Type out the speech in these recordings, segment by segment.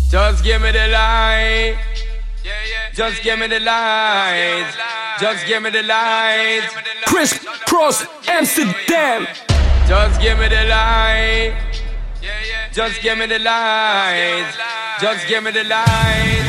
Just give me the light. Just give me the light. Just give me the light. Chris Cross Amsterdam. Just give me the light. Just give me the light. Just give me the light.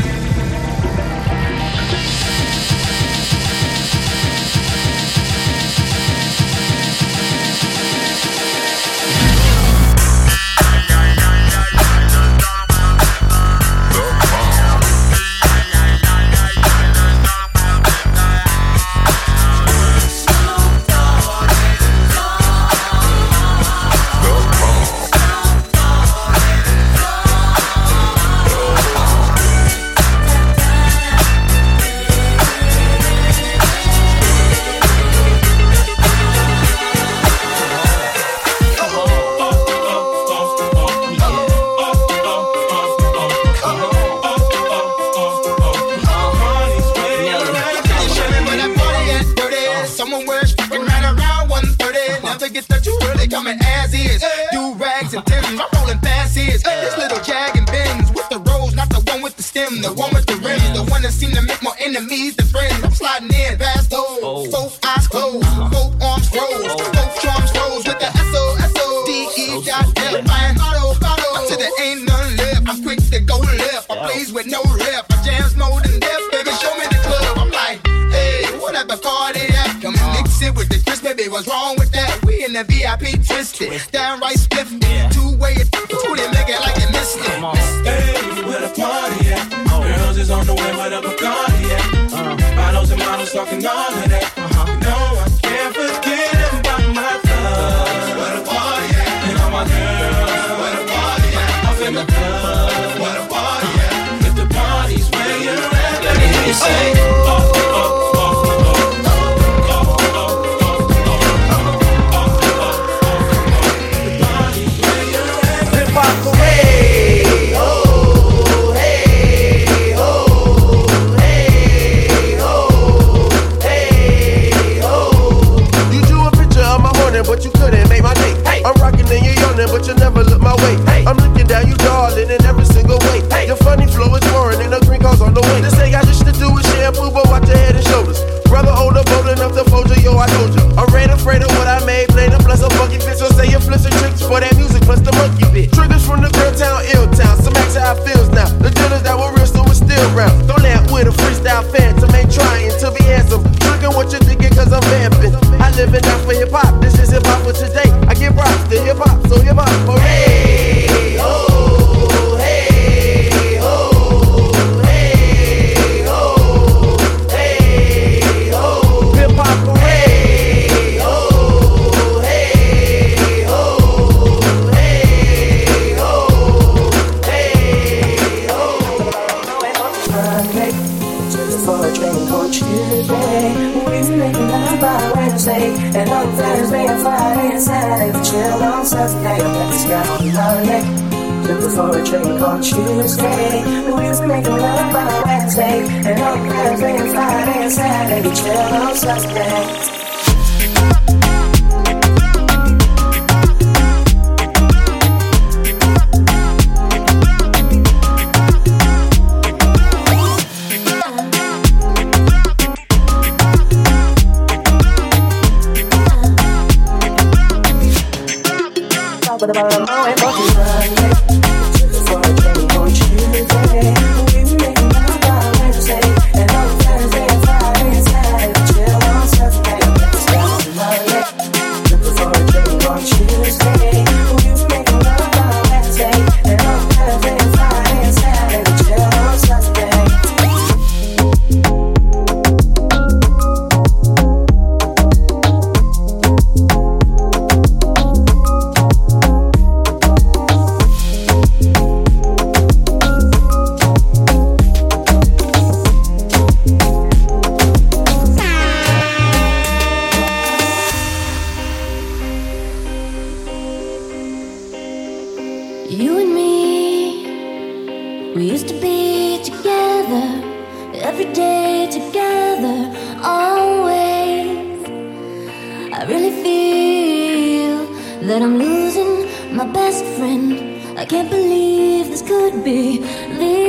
The one with the rims, the one that seem to make more enemies than friends. I'm sliding in past those, both eyes closed, both arms rose, both drums rose with the S-O-S-O-D-E-dot-F. Flying auto, till there ain't none left. I'm quick to go left, I plays with no rep. I jams more than death, baby, show me the club. I'm like, hey, whatever car they at. Come and mix it with the Chris, baby, what's wrong with that? We in the VIP twisted, downright spiffy. Two-way, they make it like they missed it. Hey, where the party at? Girls is on the way, where the Bacardi at? Models and models talking all of that. No, I can't forget about my thugs. Where the party at? And all my girls. Where the party at? Off in the club. Where the party at? If the party's where you're at, let me hear you say, but you couldn't make my day. Hey. I'm rocking and you're yawning, but you never look my way. Hey. I'm looking down, you darling, in every single way. Hey. Your funny flow is foreign and the green card's on the way. This ain't got just to do with shampoo, but watch your head and shoulders. Brother older, bold enough to fold you, yo, I told you. I'm red afraid of what I made, playing a plus a funky fit. So say your flips and tricks for that music, plus the monkey bit. Triggers from the girl town, ill town, some acts how it feels now. The dealers that were real still was still round. Don't let with a freestyle phantom, ain't trying to be handsome. Tricking what you're thinking, cause I'm vamping. I live and die for hip hop, this is hip hop for today. I give props to hip hop, so hip hop for hey, oh, hey, oh, hey, oh, hey, oh, hip hop for hey, oh, hey, oh, hey, oh, hey, oh. Monday, just for a drink on Tuesday. We've been making love by Wednesday, and on Thursday and Friday and Saturday we chill on Saturday. And let's get on Monday, just for a drink on Tuesday. We've been making love by Wednesday, and on Thursday and Friday and Saturday we chill on Saturday. But about a moment, but you run for a drink on Tuesday. We making love by Wednesday, and on Thursday and Friday and Saturday chill on Saturday. Let's go on Monday, looking for a drink on Tuesday. We making love by Wednesday, and on Thursday and Friday and Saturday chill on Saturday. You and me, we used to be together, every day together, always. I really feel that I'm losing my best friend. I can't believe this could be the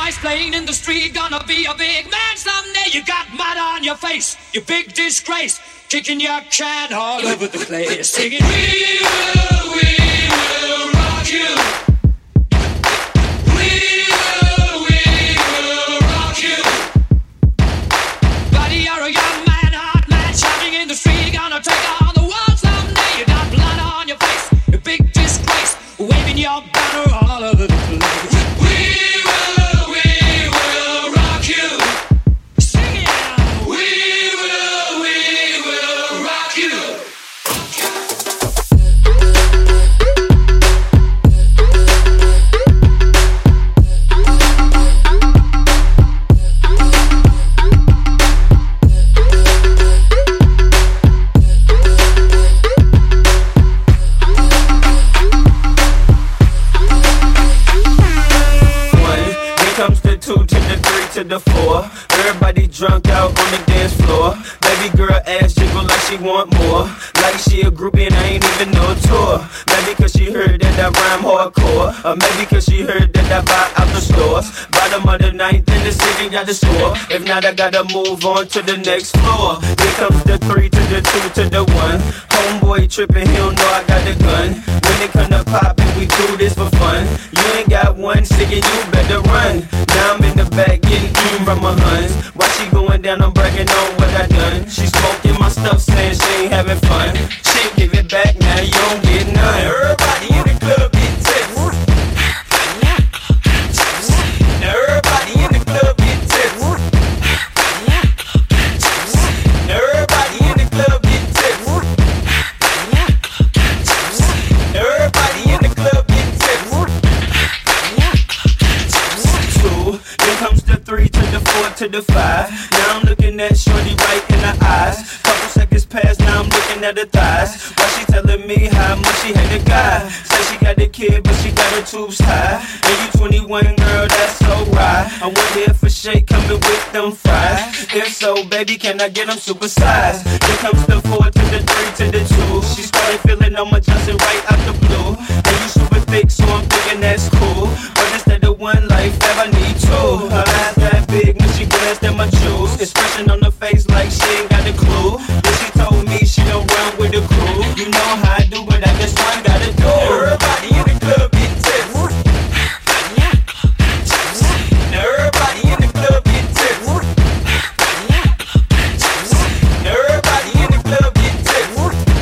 nice playing in the street, gonna be a big man someday. You got mud on your face, you big disgrace, kicking your can all over the place, singing, we will rock you. We will rock you. Buddy, you're a young man, hot man, shouting in the street, gonna take on the world someday. You got blood on your face, you big disgrace, waving your banner all over the place. The 4, everybody drunk out on the dance floor. Baby girl ass jiggle like she want more, like she a groupie and I ain't even no tour. Maybe cause she heard that I rhyme hardcore, or maybe cause she heard that I buy out the stores. Bottom of the 9th in the city got the score. If not I gotta move on to the next floor. Here comes the 3 to the 2 to the 1. Homeboy tripping, he don't know I got the gun. When it come to poppin', we do this for fun. You ain't got one singing, you better run. Now I'm in the back getting from my huns. While she going down, I'm bragging on what I done. She smoking my stuff, saying she ain't having fun. She ain't give it back, now you don't get none. Everybody in the club get tips. Now everybody in the club get tips. Now everybody in the club get tips. Now everybody in the club get tips. 2, then comes the 3 to the 4 to the 5. Now I'm looking at shorty right in the eyes. Couple seconds past, now I'm looking at her thighs. Why she telling me how much she hate a guy? Say she got a kid, but she got her tubes tied. And you 21, girl, that's so right. I wonder if a shake coming with them fries. If so, baby, can I get them supersized? Here comes the 4 to the 3 to the 2. She started feeling on my Johnson right out the blue. And you super thick, so I'm thinking that's cool. But instead of one life, I need 2. Her eyes that big when she glanced at my jewels. Expression on her face like she ain't got a clue. Then she told me she don't run with the crew. You know how I do, but I just one gotta do. Everybody in the club get tips. Now everybody in the club get tips. Now everybody in the club get tips.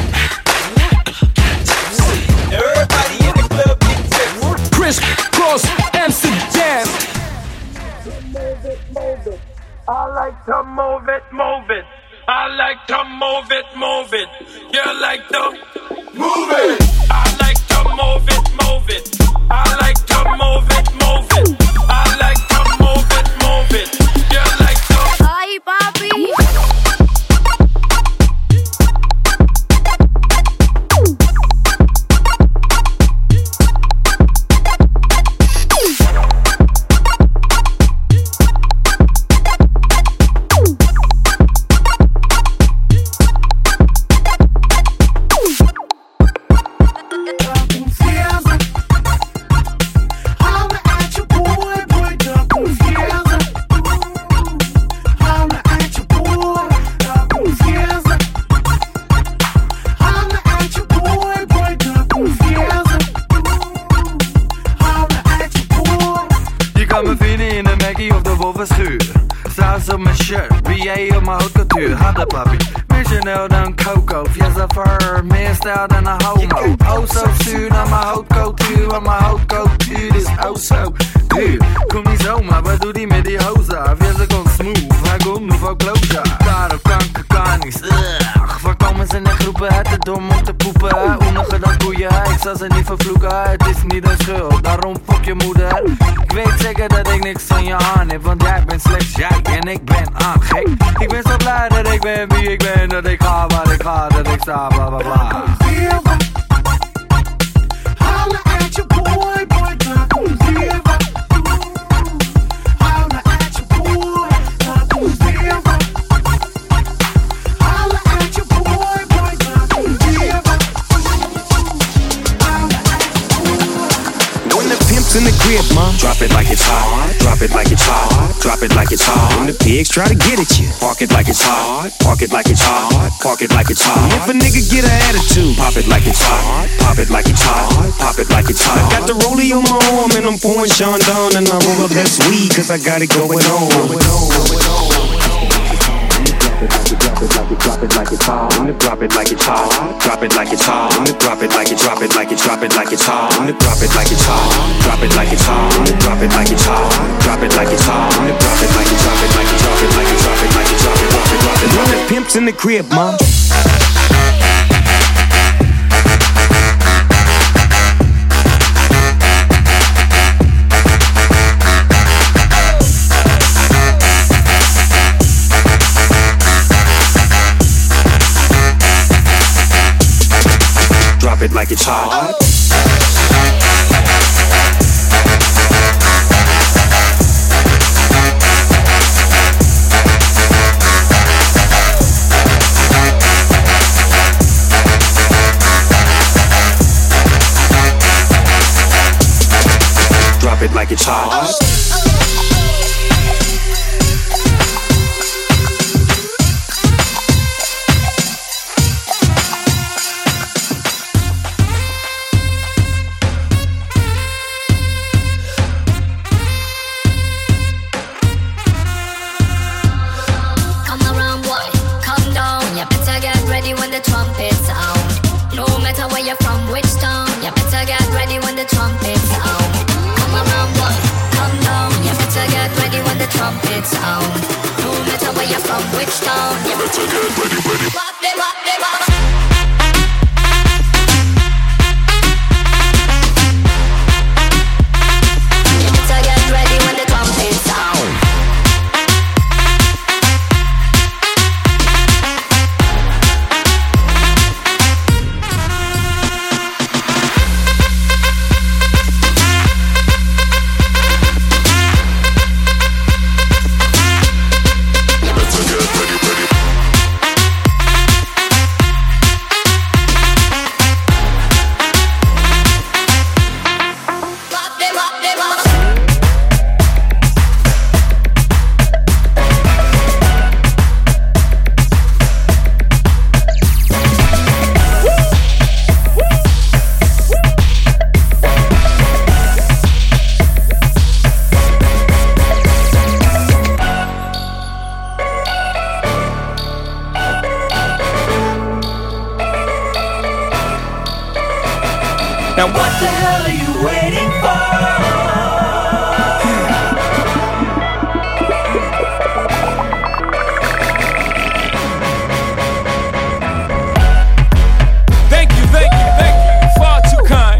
Now everybody in the club get tips. Chris Cross, Amsterdam. I like to move it, move it. I like to move it, move it. You like to move it. I like to move it, move it. I like to move it, move it. I like to move it, move it. You like to. Ay, papi. Saus op mijn shirt, BA op mijn haute couture. Hadden papi, meer Chanel dan Coco. Fiesta Fur, meer stijl dan een homo. Oh zo zuur naar mijn hautcultuur, want mijn hautcultuur is oh zo duur. Kom niet zomaar, wat doet die met die hoza? Fiesta komt smooth, hij komt nu van closure. Daarop kanker kan niet, waar komen ze in groepen? Het is dom om te poepen, oeniger dan koeien. Ik zal ze niet vervloeken, het is niet een schuld, daarom fuck je moeder. Ik weet zeker dat ik niks van je aan heb, want jij bent slechts jij en ik ben aan gek. Ik ben zo blij dat ik ben wie ik ben, dat ik ga waar ik ga, dat ik sta, bla bla bla. Holla at your boy, boy, don't give up. Holla at your boy, don't give up. Holla at your boy, boy, don't give up. Holla at your boy. When the pimp pimps in the crib, ma. Drop it like it's hot, drop it like it's hot, drop it like it's hot. When the pigs try to get at you, park it like it's hot, park it like it's hot, park it like it's hot. If a nigga get an attitude, pop it like it's hot, pop it like it's hot, pop it like it's hot. I got the rollie on my arm and I'm pouring Sean down and I roll up that weed cause I got it going on. Drop it like it's hot. Drop it like it's hot. Drop it like it's hot. Drop it like it. Drop it like it. Drop it like it's hot. Drop it like it's hot. Drop it like it's hot. Drop it like it's hot. Drop it like it's hot. Drop it like it. Drop it like it. Drop it like it. Drop it like it. Drop it. Drop it. Drop it. Drop it. Pimps in the crib, ma. Drop it like it's hot. Drop it like it's hot. Trumpets sound. No matter where you're from, which town, you better get ready, ready. Wop, they wop, they wop. You better get ready when the trumpets sound. Now what the hell are you waiting for? Thank you, thank you, thank you. Far too kind.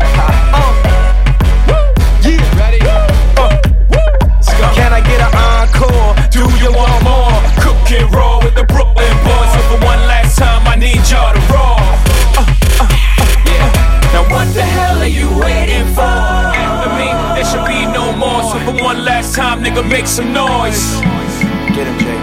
Yeah, ready? Let's go. Can I get an encore? Do you want more? Cook and roll with the Brooklyn boys. So for one last time, I need y'all to roll. Now what the hell are you waiting for? After me, there should be no more. So for one last time, nigga, make some noise. Get him, Jay.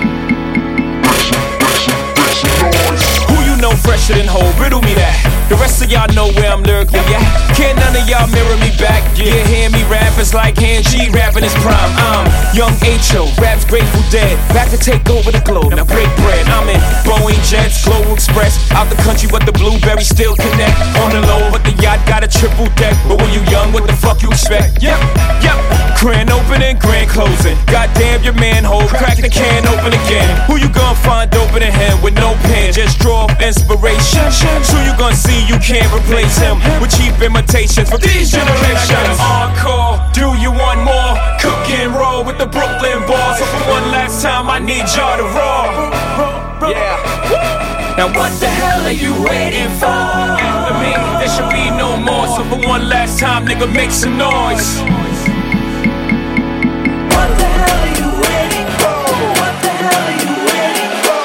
Who you know fresher than whole? Riddle me that. The rest of y'all know where I'm lyrically at. Can't none of y'all mirror me back. Yeah, hear me rap, it's like Hand G rapping his prime. I'm Young H.O., raps Grateful Dead. Back to take over the globe, now break bread. I'm in Boeing Jets, Global Express. Out the country, but the blueberries still connect. On the low, but the yacht got a triple deck. But when you young, what the fuck you expect? Yep. Grand opening, grand closing. Goddamn your manhole, crack the can open again. Who you gonna find opening him with no pen? Just draw up inspiration. Who you gonna see? You can't replace him with cheap imitations from these generations. Encore, do you want more? Cook and roll with the Brooklyn boys. So for one last time, I need y'all to roll. Yeah. Now what the hell are you waiting for? After me, there should be no more. So for one last time, nigga, make some noise. What the hell are you waiting for? What the hell are you waiting for?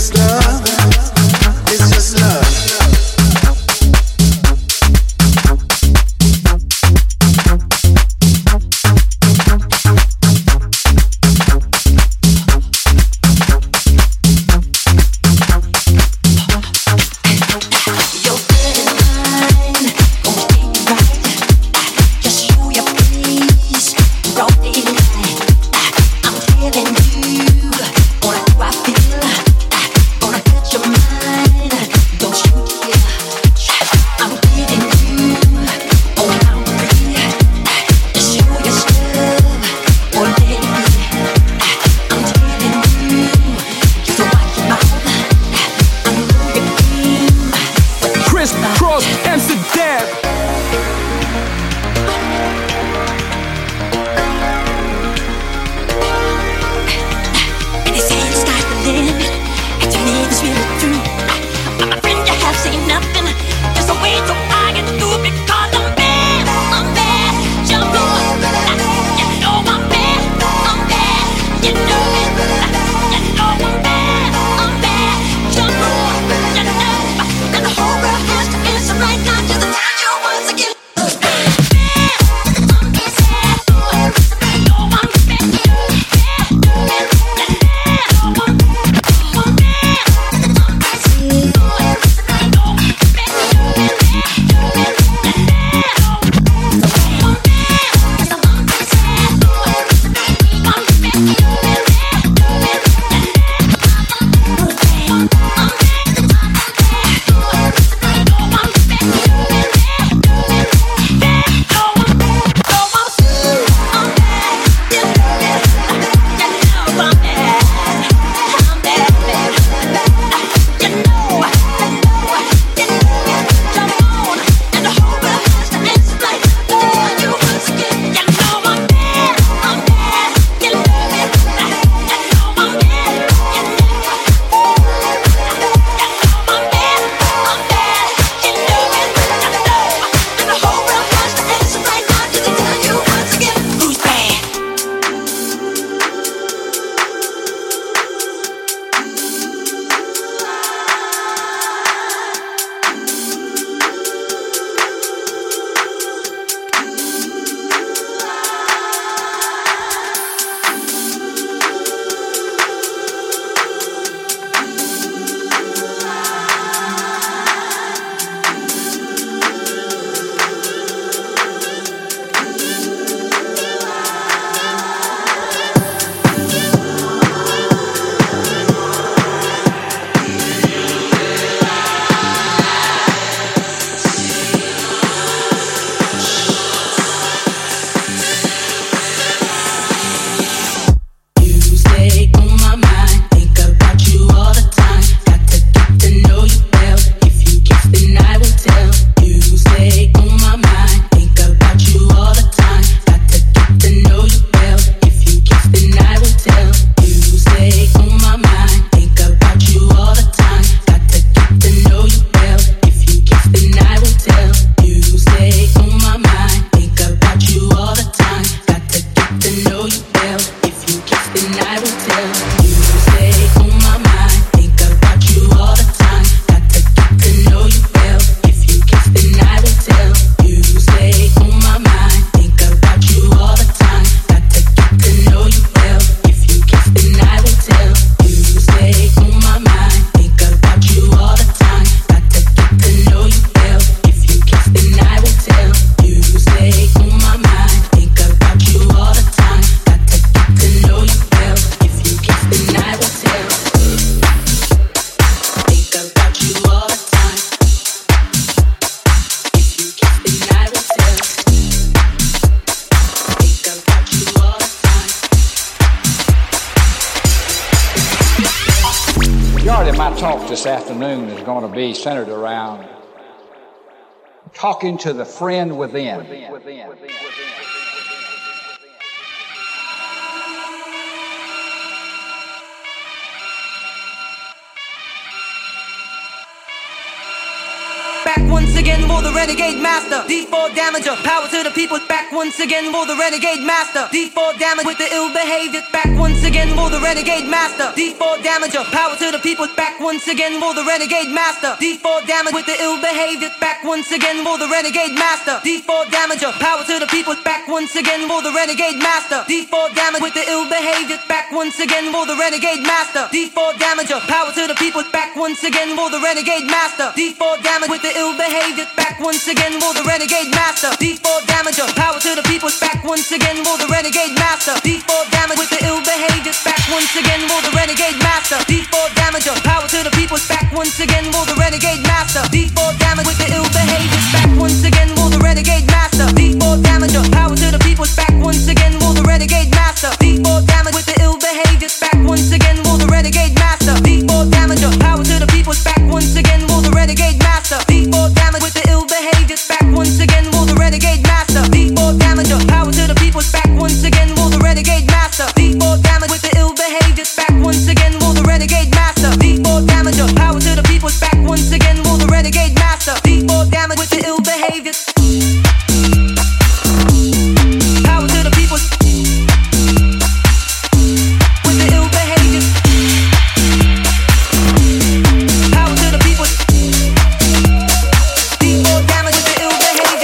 just love. It's just love. my talk this afternoon is going to be centered around talking to the friend within. back once again for the renegade master. D4 damager, power to the people, back once again for the renegade master. D4 damage with the ill behavior, back once again for the renegade master. D4 damager, power to the people, back once again for the renegade master. D4 damage with the ill behavior, back once again for the renegade master. D4 damager, power to the people, back once again for the renegade master. D4 damage with the ill behavior, back once again for the renegade master. D4 damager, power to the people, back once again for the renegade master. D4 damage with the ill behavior, back once again for the renegade master. D4 damager, power to the people, back once again for the renegade master. D4 damage with the ill behavior, back once again for the renegade master. D4 damager, power to the people, back once again for the renegade master. D4 damage with the ill behavior, back once again for the renegade master. D4 damager, power to the people, back once again for the renegade master. D4 damage with the ill behavior, back once again for the renegade master. D4 damager, power to the people, back once again for the renegade master. D4 damage with the ill behavior, back once again for the renegade master. D4 damager, power to the people, back once again for the renegade master. D4 damage with the ill behavior, back once again for the renegade master. D4 damager, power to the people, back once again for the renegade master. D4 damage with the ill behavior. Power to the people with the ill behavior. Power to the people. D4 damage with the ill behavior.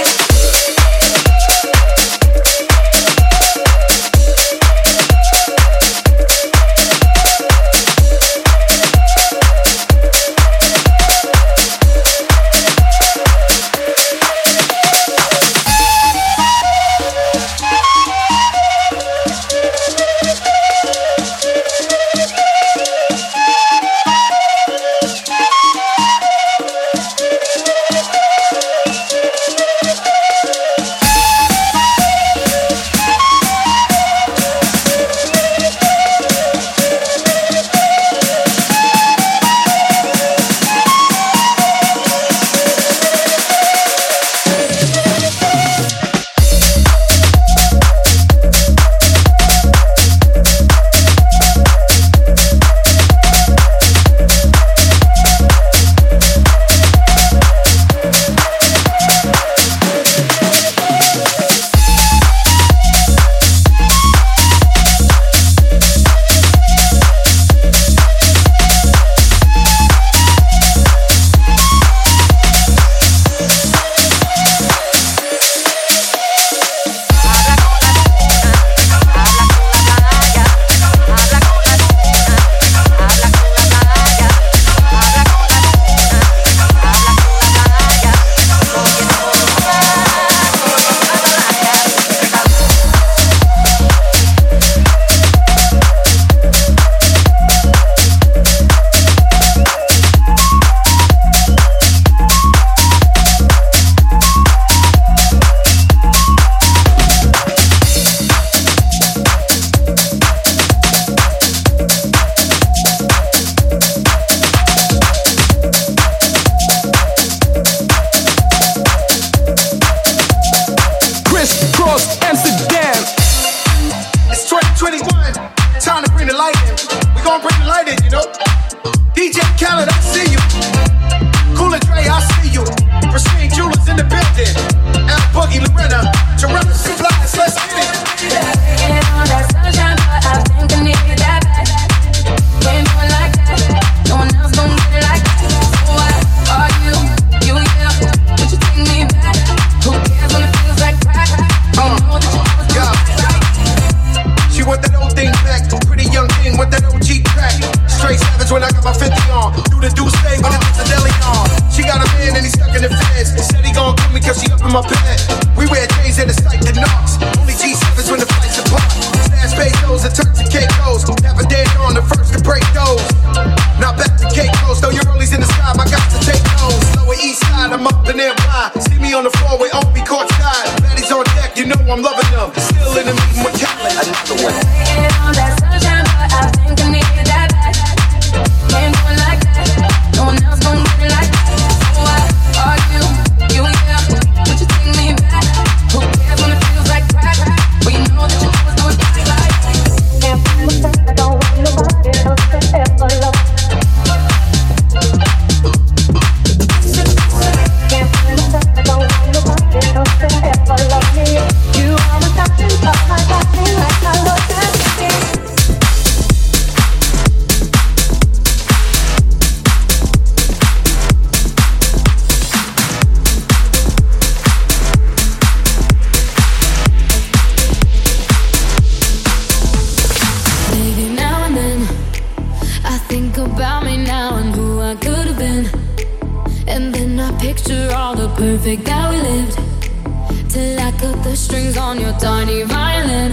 picture all the perfect that we lived, till I cut the strings on your tiny violin.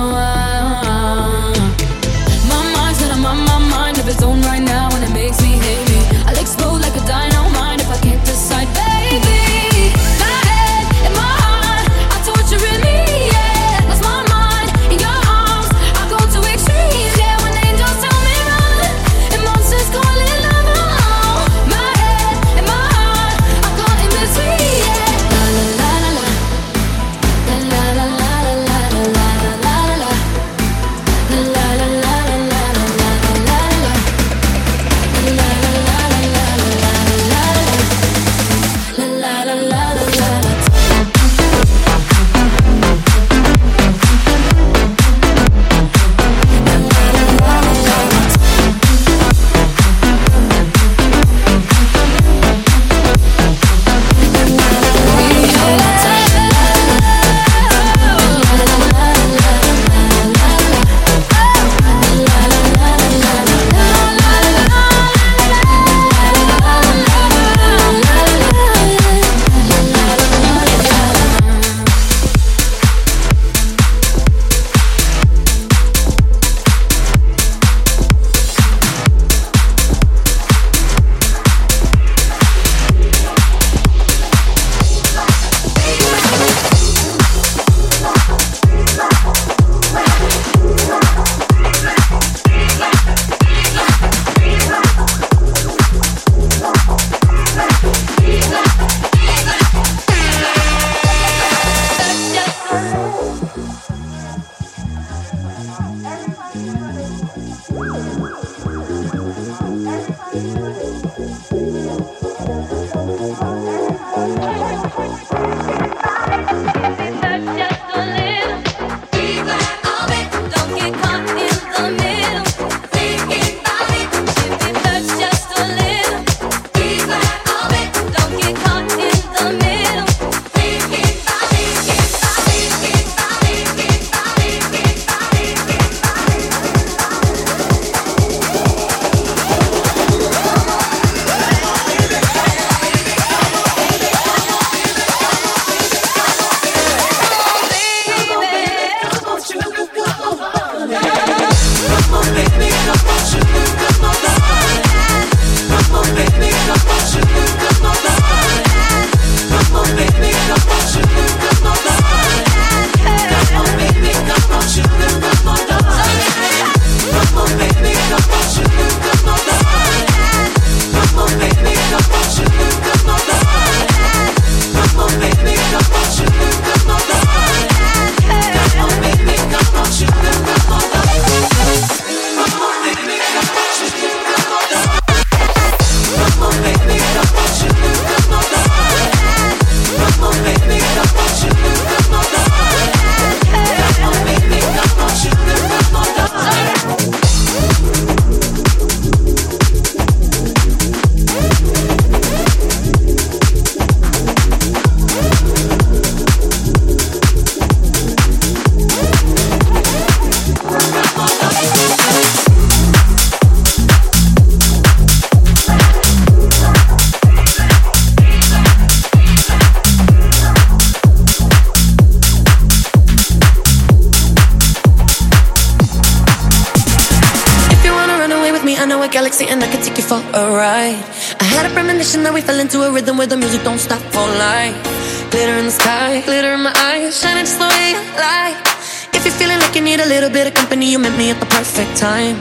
My mind's got my mind of its own right now, and it makes me hate me. I'll explode like a dynamite if I can't decide, baby. My head and my heart are torturing me, yeah. Lost my mind in your arms, I go to extremes, yeah. When angels tell me run, and monsters calling love, my head and my heart are caught in between, yeah. La la la la la, la la la la la la la la la, la la la la la la la la la la, la la la la la la la la la la la. Galaxy and I could take you for a ride. I had a premonition that we fell into a rhythm where the music don't stop for life. Glitter in the sky, glitter in my eyes, shining just the way you like. If you're feeling like you need a little bit of company, you met me at the perfect time.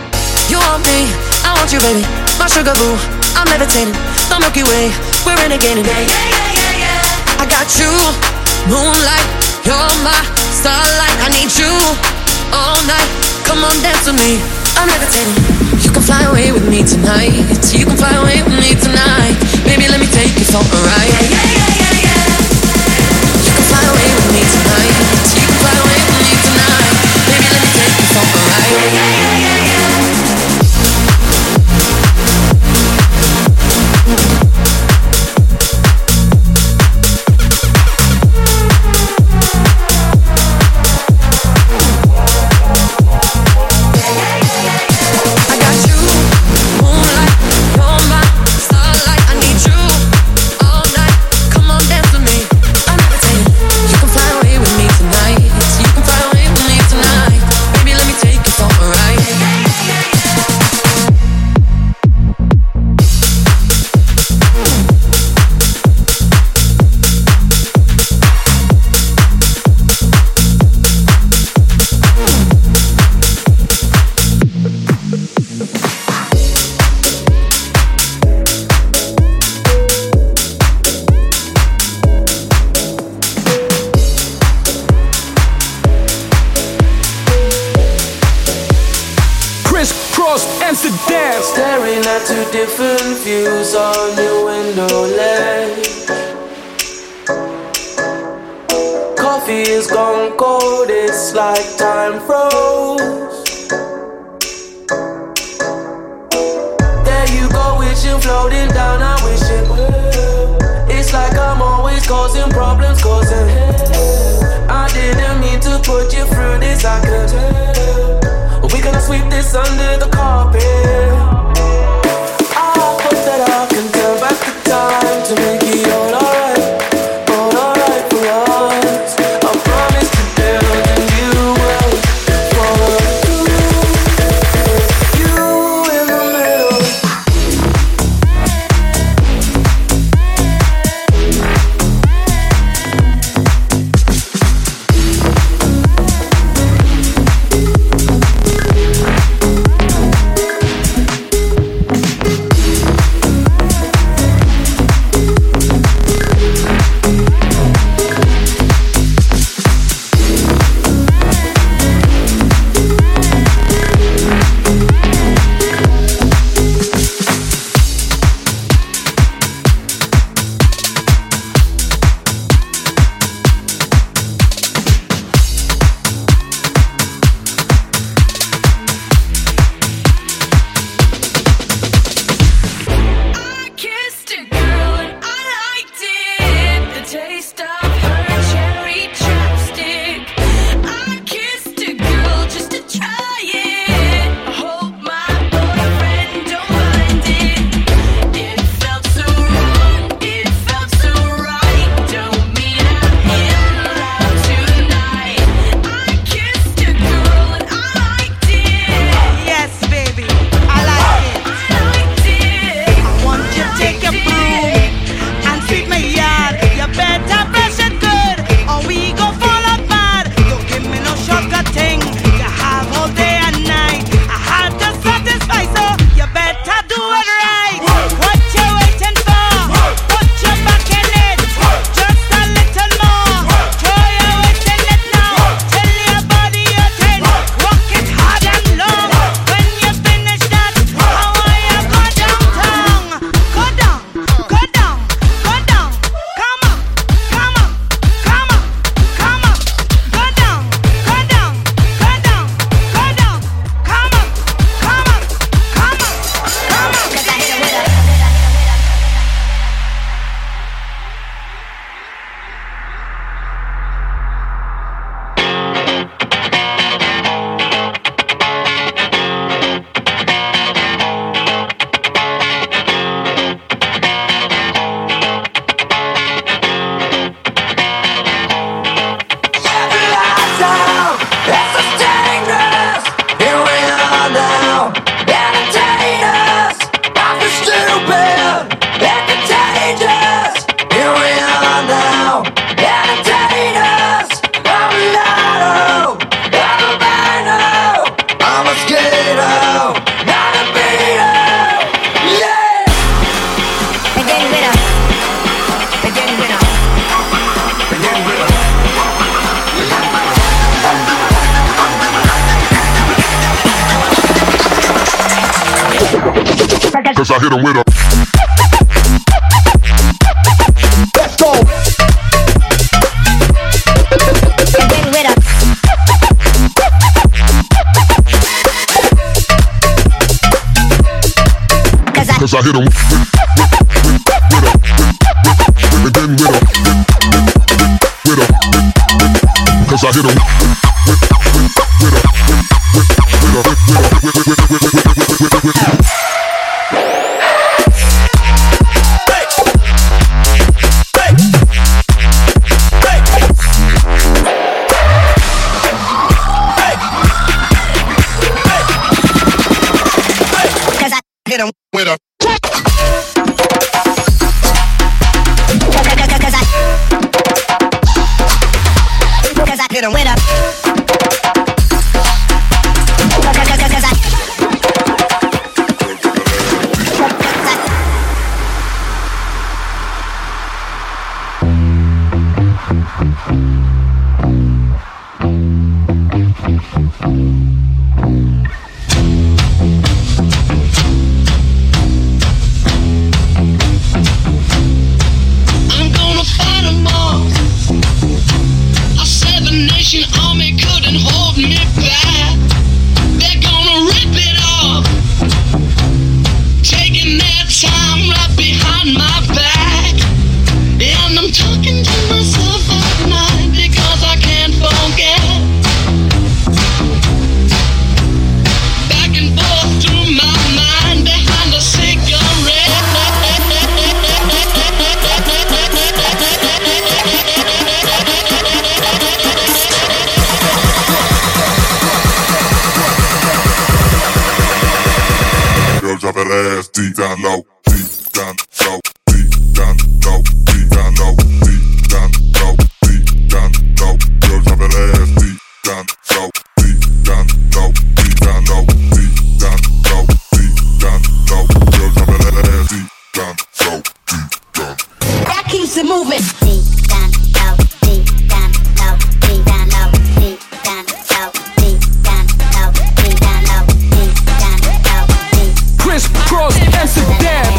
You want me, I want you, baby. My sugar boo, I'm levitating. The Milky Way, we're renegading. Yeah, yeah, yeah, yeah, yeah. I got you, moonlight, you're my starlight. I need you all night. Come on, dance with me, I'm levitating. You can fly away with me tonight. You can fly away with me tonight. Baby, let me take you for a ride. Yeah, yeah, yeah, yeah, yeah. You can fly away with me tonight. You can fly away with me tonight. Baby, let me take you for a ride. Yeah, yeah, yeah, yeah, yeah. I got you, to dance. Staring at two different views on your window ledge. Coffee is gone cold, it's like time froze. There you go, wishing, floating down, I wish it will. It's like I'm always causing problems, causing hell. I didn't mean to put you through this, I could tell. We're gonna sweep this under the carpet. I hope that I can turn back the time to make it all alright for us. I promise to build and you will follow through. You in the middle. Cause I hit him with a. Let's go. Cause I hit him with a. Cause I hit him. Hit him with a. Cause I hit him with a. bad time right behind my back, and I'm talking to myself at night because I can't forget. Back and forth through my mind behind a cigarette. Girl, drop that ass deep down low, deep down low, deep down low, deep down low, deep down low, deep down low. Girl, drop that ass deep down low, deep down low, deep down low, deep down low, deep down low. Girl, drop that ass deep down low, deep down. That keeps it moving. Deep down low, deep down low, deep down low, deep down low, deep down low, deep down low, deep down low, deep. Chris Cross, Amsterdam.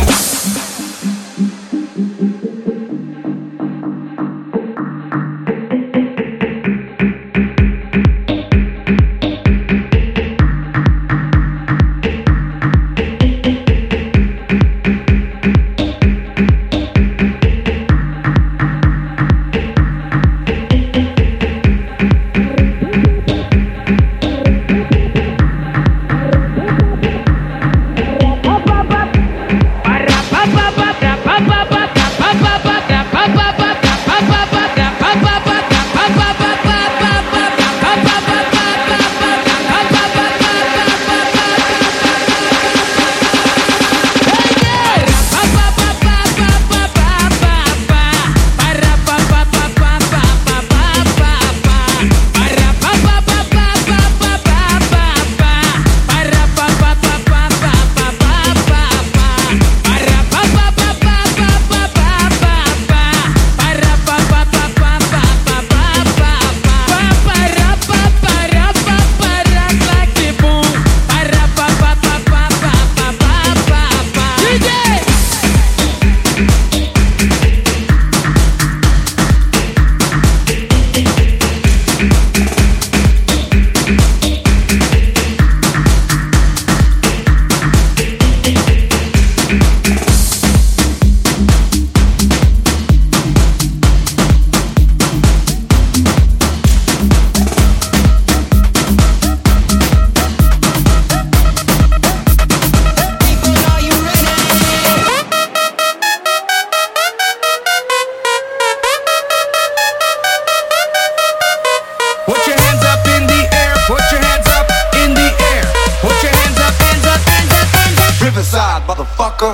Riverside, motherfucker.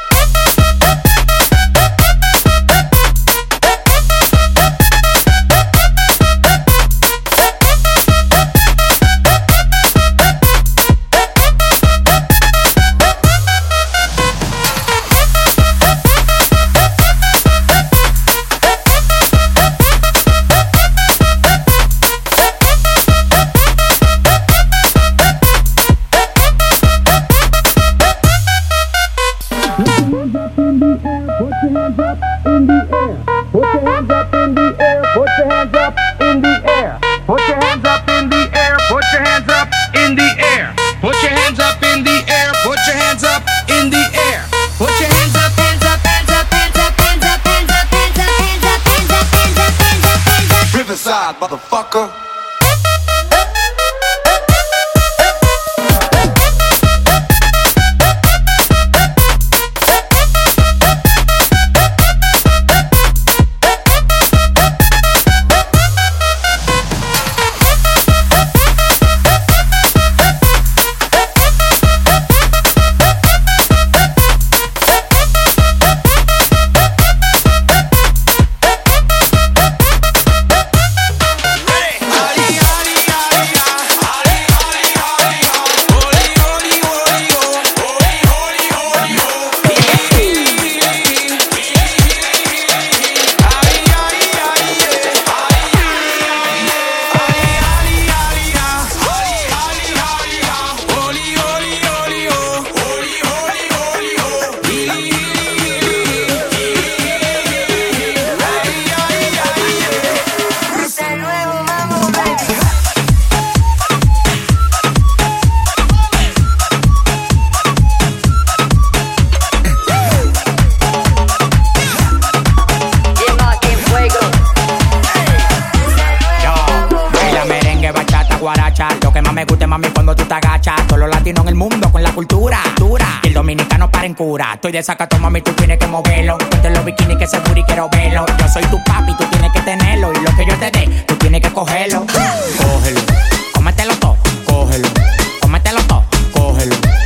Riverside, motherfucker. latino en el mundo con la cultura dura. Y el dominicano para en cura. Estoy de sacato, mami, tú tienes que moverlo. Ponte los bikinis que ese booty quiero verlo. Yo soy tu papi, tú tienes que tenerlo. Y lo que yo te dé, tú tienes que cogerlo. Cógelo, cómetelo todo, cógelo. Cómetelo todo, cógelo.